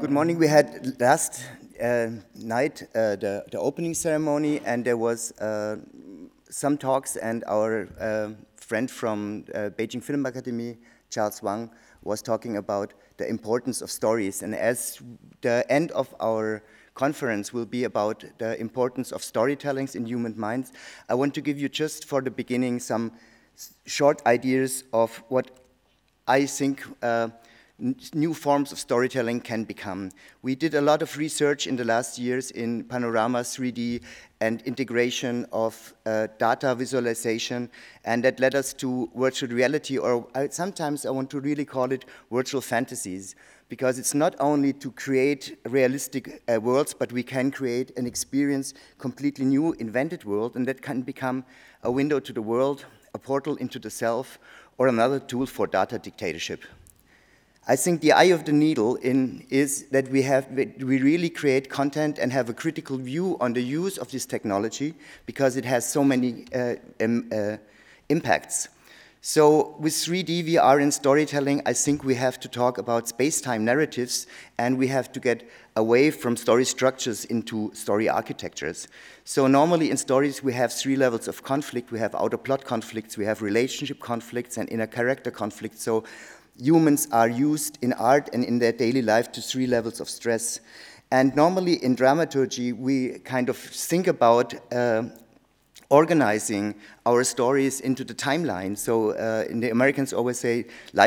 Good morning. We had last night the opening ceremony, and there was some talks, and our friend from Beijing Film Academy, Charles Wang, was talking about the importance of stories. And as the end of our conference will be about the importance of storytellings in human minds, I want to give you just for the beginning some short ideas of what I think new forms of storytelling can become. We did a lot of research in the last years in panorama 3D and integration of data visualization, and that led us to virtual reality, or sometimes I want to really call it virtual fantasies, because it's not only to create realistic worlds, but we can create an experience, completely new, invented world, and that can become a window to the world, a portal into the self, or another tool for data dictatorship. I think the eye of the needle is that we really create content and have a critical view on the use of this technology, because it has so many impacts. So with 3D, VR, and storytelling, I think we have to talk about space-time narratives, and we have to get away from story structures into story architectures. So normally in stories, we have 3 levels of conflict. We have outer plot conflicts, we have relationship conflicts, and inner character conflicts. So humans are used in art and in their daily life to 3 levels of stress. And normally in dramaturgy, we kind of think about organizing our stories into the timeline. So in the Americans always say,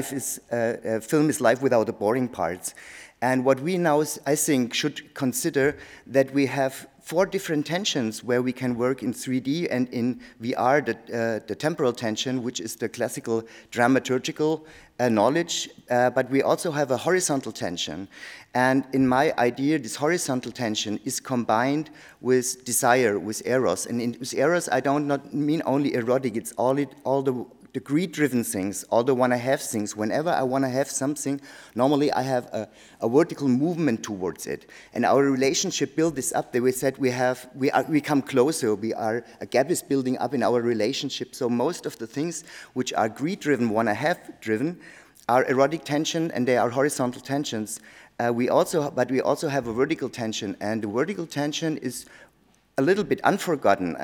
film is life without the boring parts. And what we now, I think, should consider that we have 4 different tensions where we can work in 3D and in VR, the temporal tension, which is the classical dramaturgical knowledge, but we also have a horizontal tension. And in my idea, this horizontal tension is combined with desire, with eros. And with eros, I don't not mean only erotic, it's all the greed-driven things, all the wanna-have things. Whenever I wanna have something, normally I have a vertical movement towards it. And our relationship built this up. We said we come closer. A gap is building up in our relationship. So most of the things which are greed-driven, wanna-have driven, are erotic tension, and they are horizontal tensions. But we also have a vertical tension, and the vertical tension is a little bit unforgotten.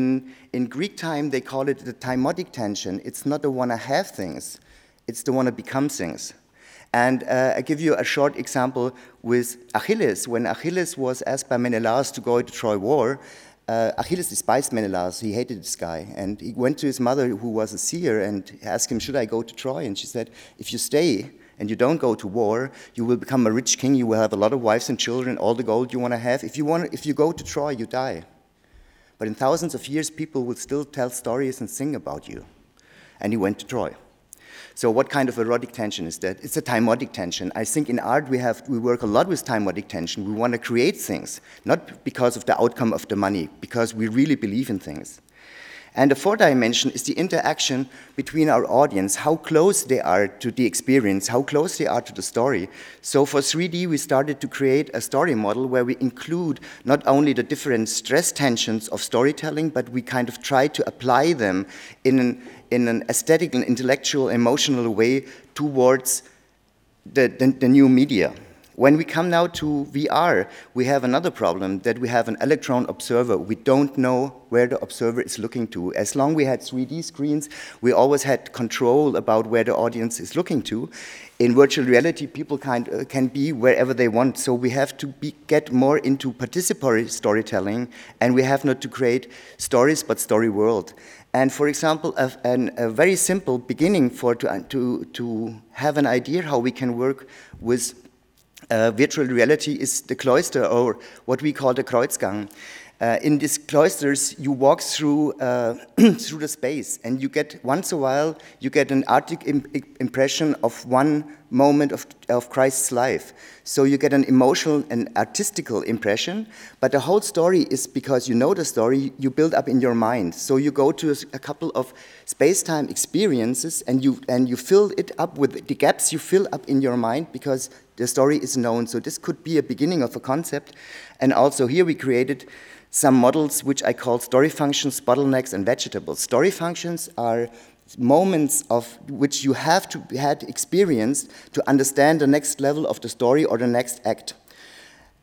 In Greek time, they call it the timotic tension. It's not the wanna-have things, it's the wanna-become things. And I give you a short example with Achilles. When Achilles was asked by Menelaus to go to Troy War, Achilles despised Menelaus. He hated this guy. And he went to his mother, who was a seer, and asked him, should I go to Troy? And she said, if you stay and you don't go to war, you will become a rich king, you will have a lot of wives and children, all the gold you want to have. If you go to Troy, you die. But in thousands of years, people will still tell stories and sing about you. And he went to Troy. So what kind of erotic tension is that? It's a timotic tension. I think in art we work a lot with timotic tension. We want to create things, not because of the outcome of the money, because we really believe in things. And the 4th dimension is the interaction between our audience, how close they are to the experience, how close they are to the story. So for 3D, we started to create a story model where we include not only the different stress tensions of storytelling, but we kind of try to apply them in an aesthetic and intellectual, emotional way towards the new media. When we come now to VR, we have another problem, that we have an electron observer. We don't know where the observer is looking to. As long as we had 3D screens, we always had control about where the audience is looking to. In virtual reality, people can be wherever they want, so we have to get more into participatory storytelling, and we have not to create stories, but story world. And for example, a very simple beginning to have an idea how we can work with virtual reality is the cloister, or what we call the Kreuzgang. In these cloisters, you walk through through the space, and you get, once a while, you get an artistic impression of one moment of Christ's life. So you get an emotional and artistical impression, but the whole story is, because you know the story, you build up in your mind. So you go to a couple of space-time experiences, and you fill it up with the gaps you fill up in your mind, because the story is known. So this could be a beginning of a concept. And also here we created some models which I call story functions, bottlenecks, and vegetables. Story functions are moments of which you have to had experienced to understand the next level of the story or the next act.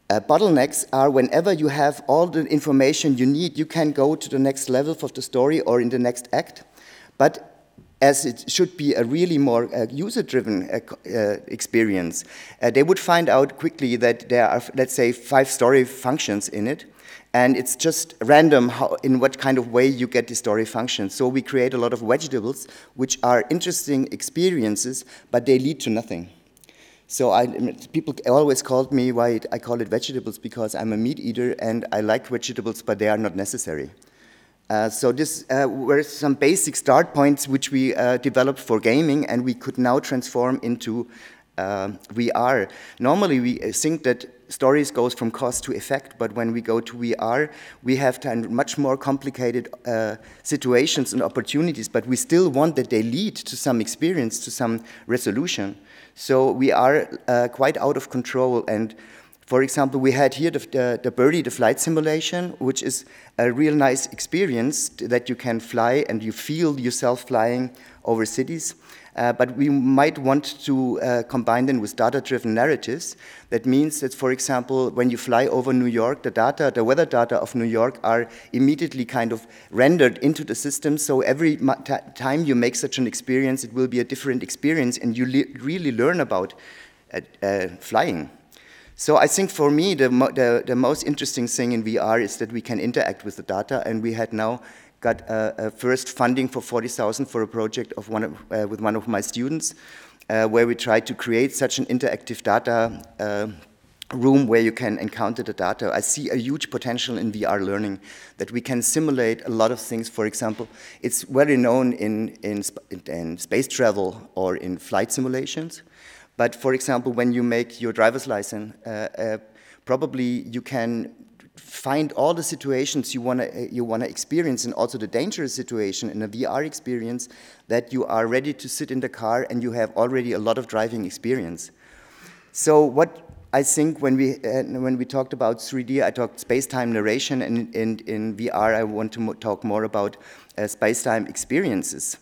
Bottlenecks are whenever you have all the information you need, you can go to the next level of the story or in the next act. But as it should be a really more user-driven experience, they would find out quickly that there are, let's say, 5 story functions in it, and it's just random in what kind of way you get the story functions. So we create a lot of vegetables, which are interesting experiences, but they lead to nothing. So people always called me, why I call it vegetables, because I'm a meat eater and I like vegetables, but they are not necessary. So this were some basic start points which we developed for gaming, and we could now transform into VR. Normally we think that stories goes from cause to effect, but when we go to VR, we have much more complicated situations and opportunities, but we still want that they lead to some experience, to some resolution. So we are quite out of control. And for example, we had here the Birdie, the flight simulation, which is a real nice experience that you can fly and you feel yourself flying over cities. But we might want to combine them with data-driven narratives. That means that, for example, when you fly over New York, the weather data of New York are immediately kind of rendered into the system. So every time you make such an experience, it will be a different experience, and you really learn about flying. So I think for me, the most interesting thing in VR is that we can interact with the data, and we had now got a first funding for 40,000 for a project of with one of my students, where we tried to create such an interactive data room where you can encounter the data. I see a huge potential in VR learning, that we can simulate a lot of things. For example, it's very known in space travel or in flight simulations. But for example, when you make your driver's license, probably you can find all the situations you wanna experience, and also the dangerous situation in a VR experience, that you are ready to sit in the car and you have already a lot of driving experience. So what I think when we talked about 3D, I talked space-time narration, and in VR I want to talk more about space-time experiences.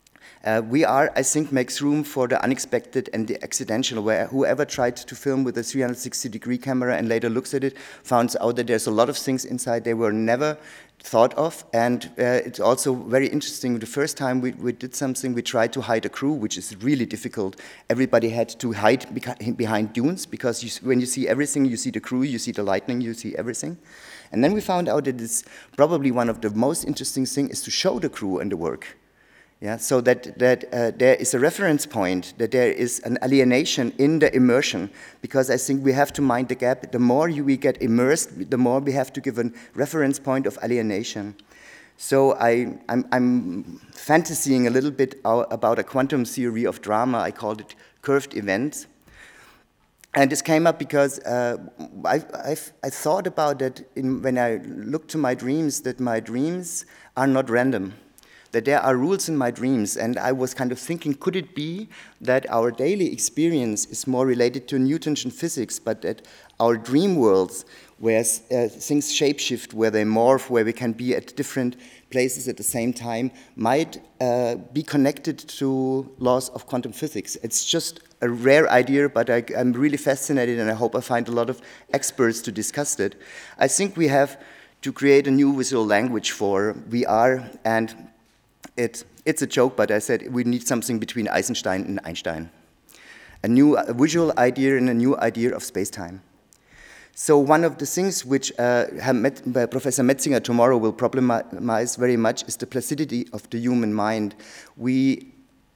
VR, I think, makes room for the unexpected and the accidental, where whoever tried to film with a 360-degree camera and later looks at it finds out that there's a lot of things inside they were never thought of. And it's also very interesting. The first time we did something, we tried to hide a crew, which is really difficult. Everybody had to hide behind dunes, because when you see everything, you see the crew, you see the lightning, you see everything. And then we found out that it's probably one of the most interesting things is to show the crew and the work. Yeah, so that there is a reference point, that there is an alienation in the immersion, because I think we have to mind the gap. The more we get immersed, the more we have to give a reference point of alienation. So I'm fantasying a little bit about a quantum theory of drama. I called it curved events. And this came up because I thought about that when I looked to my dreams, that my dreams are not random, that there are rules in my dreams. And I was kind of thinking, could it be that our daily experience is more related to Newtonian physics, but that our dream worlds, where things shapeshift, where they morph, where we can be at different places at the same time, might be connected to laws of quantum physics? It's just a rare idea, but I'm really fascinated, and I hope I find a lot of experts to discuss it. I think we have to create a new visual language for VR, and it's a joke, but I said we need something between Eisenstein and Einstein. A new visual idea and a new idea of space-time. So one of the things which Professor Metzinger tomorrow will problemize very much is the placidity of the human mind. We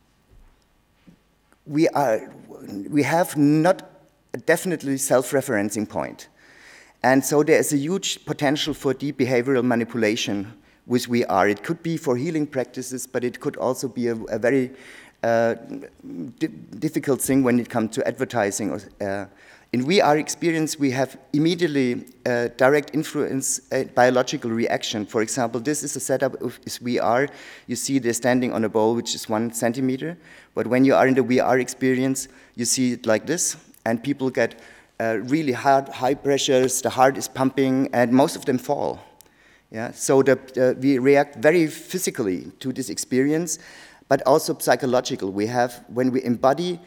have not a definitely self-referencing point. And so there is a huge potential for deep behavioral manipulation with VR. It could be for healing practices, but it could also be a very difficult thing when it comes to advertising. In VR experience, we have immediately direct influence, biological reaction. For example, this is a setup of VR. You see they're standing on a ball which is 1 centimeter, but when you are in the VR experience, you see it like this, and people get really high pressures, the heart is pumping, and most of them fall. Yeah, so we react very physically to this experience, but also psychological. We have, when we embody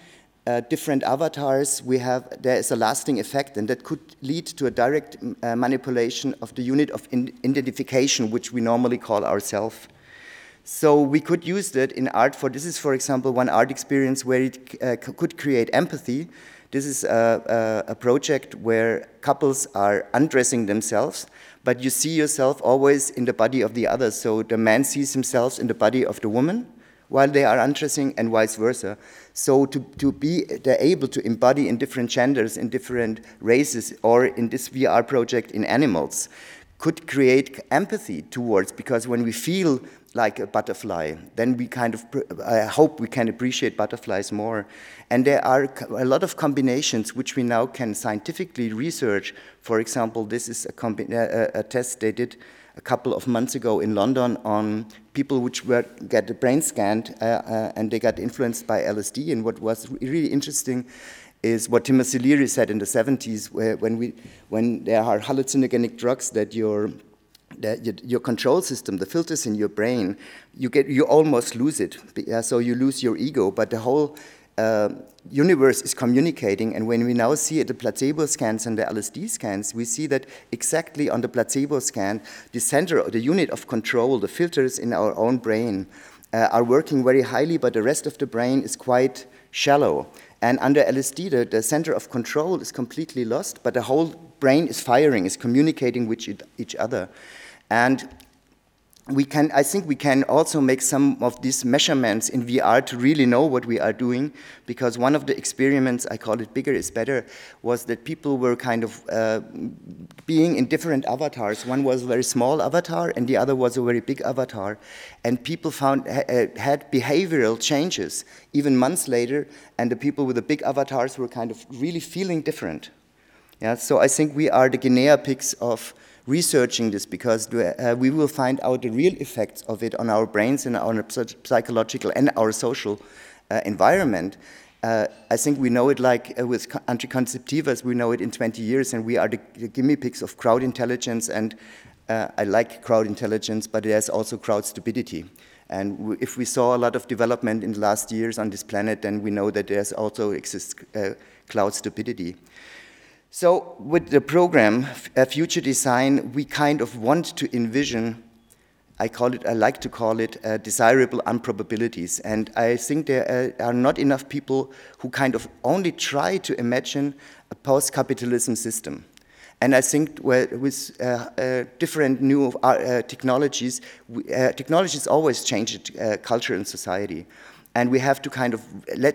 different avatars, there is a lasting effect, and that could lead to a direct manipulation of the unit of identification, which we normally call ourself. So we could use that in art this is, for example, one art experience where it could create empathy. This is a project where couples are undressing themselves, but you see yourself always in the body of the other. So the man sees himself in the body of the woman while they are undressing, and vice versa. So they're able to embody in different genders, in different races, or in this VR project in animals, could create empathy towards, because when we feel like a butterfly, then we I hope we can appreciate butterflies more. And there are a lot of combinations which we now can scientifically research. For example, this is a test they did a couple of months ago in London on people which get the brain scanned and they got influenced by LSD. And what was really interesting is what Timothy Leary said in the 70s, when there are hallucinogenic drugs that your control system, the filters in your brain, you almost lose it. So you lose your ego, but the whole universe is communicating. And when we now see the placebo scans and the LSD scans, we see that exactly on the placebo scan, the center, the unit of control, the filters in our own brain are working very highly, but the rest of the brain is quite shallow. And under LSD, the center of control is completely lost, but the whole brain is firing, is communicating with each other. And I think we can also make some of these measurements in VR to really know what we are doing, because one of the experiments, I call it bigger is better, was that people were kind of being in different avatars. One was a very small avatar and the other was a very big avatar. And people had behavioral changes even months later, and the people with the big avatars were kind of really feeling different. Yeah, so I think we are the guinea pigs of researching this, because we will find out the real effects of it on our brains and our psychological and our social environment. I think we know it like with anticonceptivas, we know it in 20 years, and we are the guinea pigs of crowd intelligence, and I like crowd intelligence, but there's also crowd stupidity. And if we saw a lot of development in the last years on this planet, then we know that there's also exists cloud stupidity. So with the program, Future Design, we kind of want to envision, I like to call it desirable improbabilities. And I think there are not enough people who kind of only try to imagine a post-capitalism system. And I think with different new technologies, technologies always change culture and society. And we have to kind of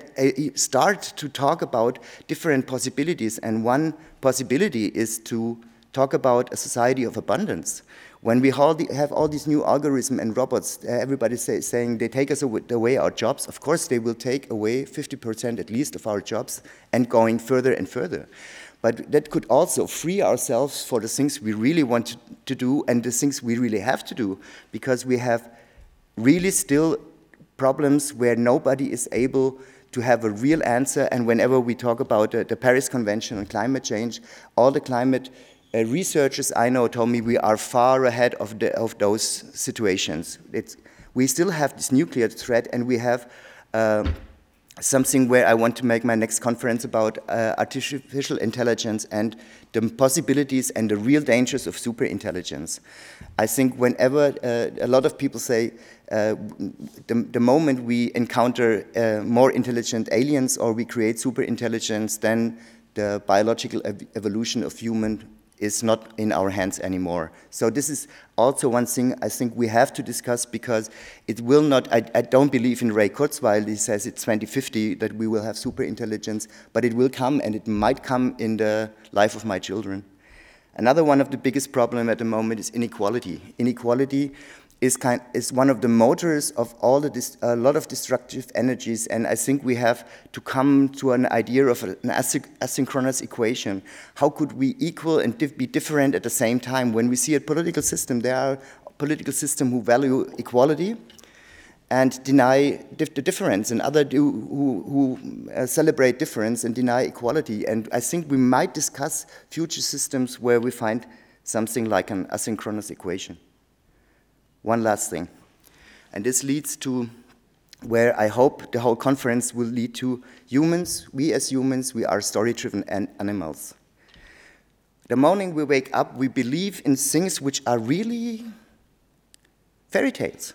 start to talk about different possibilities. And one possibility is to talk about a society of abundance. When we have all these new algorithms and robots, everybody's saying they take us away our jobs. Of course, they will take away 50% at least of our jobs, and going further and further. But that could also free ourselves for the things we really want to do and the things we really have to do, because we have really still problems where nobody is able to have a real answer. And whenever we talk about the Paris Convention on climate change, all the climate researchers I know told me we are far ahead of those situations. We still have this nuclear threat, and we have something where I want to make my next conference about artificial intelligence and the possibilities and the real dangers of superintelligence. I think whenever a lot of people say the moment we encounter more intelligent aliens or we create superintelligence, then the biological evolution of human is not in our hands anymore. So this is also one thing I think we have to discuss, because it will not, I don't believe in Ray Kurzweil. He says it's 2050 that we will have superintelligence, but it will come, and it might come in the life of my children. Another one of the biggest problems at the moment is inequality. Inequality is one of the motors of a lot of destructive energies, and I think we have to come to an idea of an asynchronous equation. How could we equal and be different at the same time? When we see a political system, there are political systems who value equality and deny the difference, and others who celebrate difference and deny equality. And I think we might discuss future systems where we find something like an asynchronous equation. One last thing, and this leads to where I hope the whole conference will lead to humans. We as humans, we are story-driven animals. The morning we wake up, we believe in things which are really fairy tales.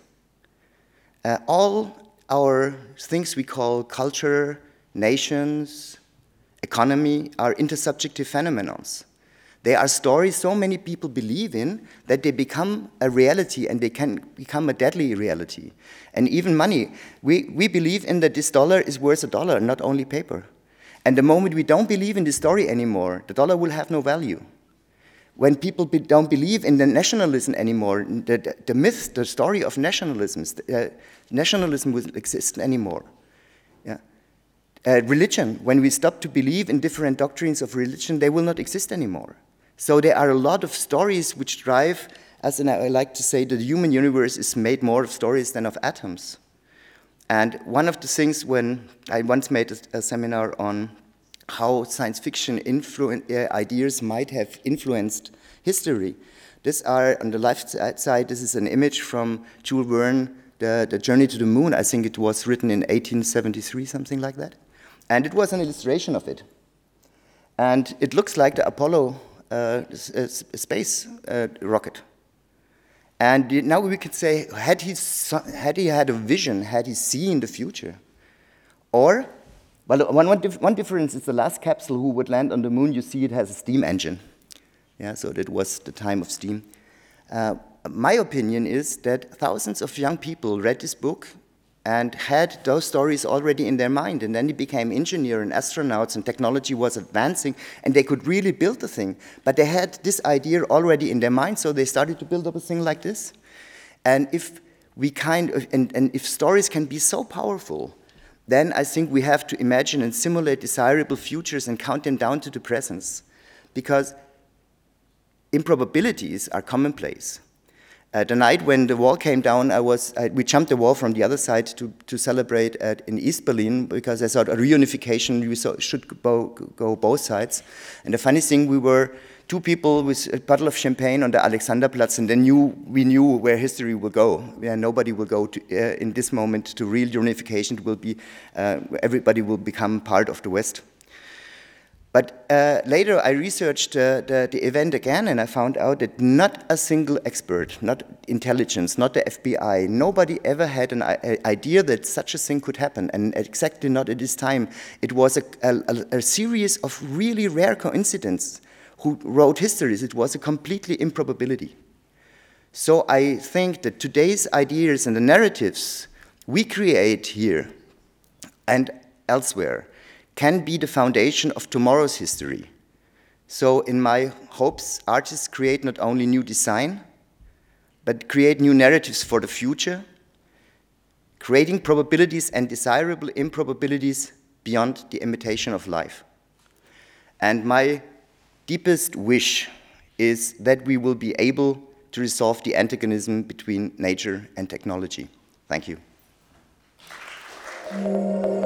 All our things we call culture, nations, economy are intersubjective phenomena. They are stories so many people believe in that they become a reality, and they can become a deadly reality. And even money, we believe in that this dollar is worth a dollar, not only paper. And the moment we don't believe in the story anymore, the dollar will have no value. When people don't believe in the nationalism anymore, the myth, the story of nationalism will exist anymore. Yeah. Religion, when we stop to believe in different doctrines of religion, they will not exist anymore. So there are a lot of stories which drive, as I like to say, the human universe is made more of stories than of atoms. And one of the things, when I once made a seminar on how science fiction ideas might have influenced history. These are, on the left side, this is an image from Jules Verne, the Journey to the Moon. I think it was written in 1873, something like that. And it was an illustration of it. And it looks like the Apollo space rocket. And now we could say, had he had a vision, had he seen the future? Or, well, one difference is the last capsule who would land on the moon, you see it has a steam engine. Yeah, so that was the time of steam. My opinion is that thousands of young people read this book and had those stories already in their mind, and then they became engineers and astronauts, and technology was advancing, and they could really build the thing. But they had this idea already in their mind, so they started to build up a thing like this. And if we if stories can be so powerful, then I think we have to imagine and simulate desirable futures and count them down to the presence, because improbabilities are commonplace. The night when the wall came down, we jumped the wall from the other side to celebrate in East Berlin, because I thought a reunification should go both sides. And the funny thing, we were two people with a bottle of champagne on the Alexanderplatz, and then we knew where history will go. Yeah, nobody will go in this moment to real unification. It will be everybody will become part of the West. But later I researched the event again, and I found out that not a single expert, not intelligence, not the FBI, nobody ever had an idea that such a thing could happen, and exactly not at this time. It was a series of really rare coincidences who wrote histories. It was a completely improbability. So I think that today's ideas and the narratives we create here and elsewhere can be the foundation of tomorrow's history. So in my hopes, artists create not only new design, but create new narratives for the future, creating probabilities and desirable improbabilities beyond the imitation of life. And my deepest wish is that we will be able to resolve the antagonism between nature and technology. Thank you.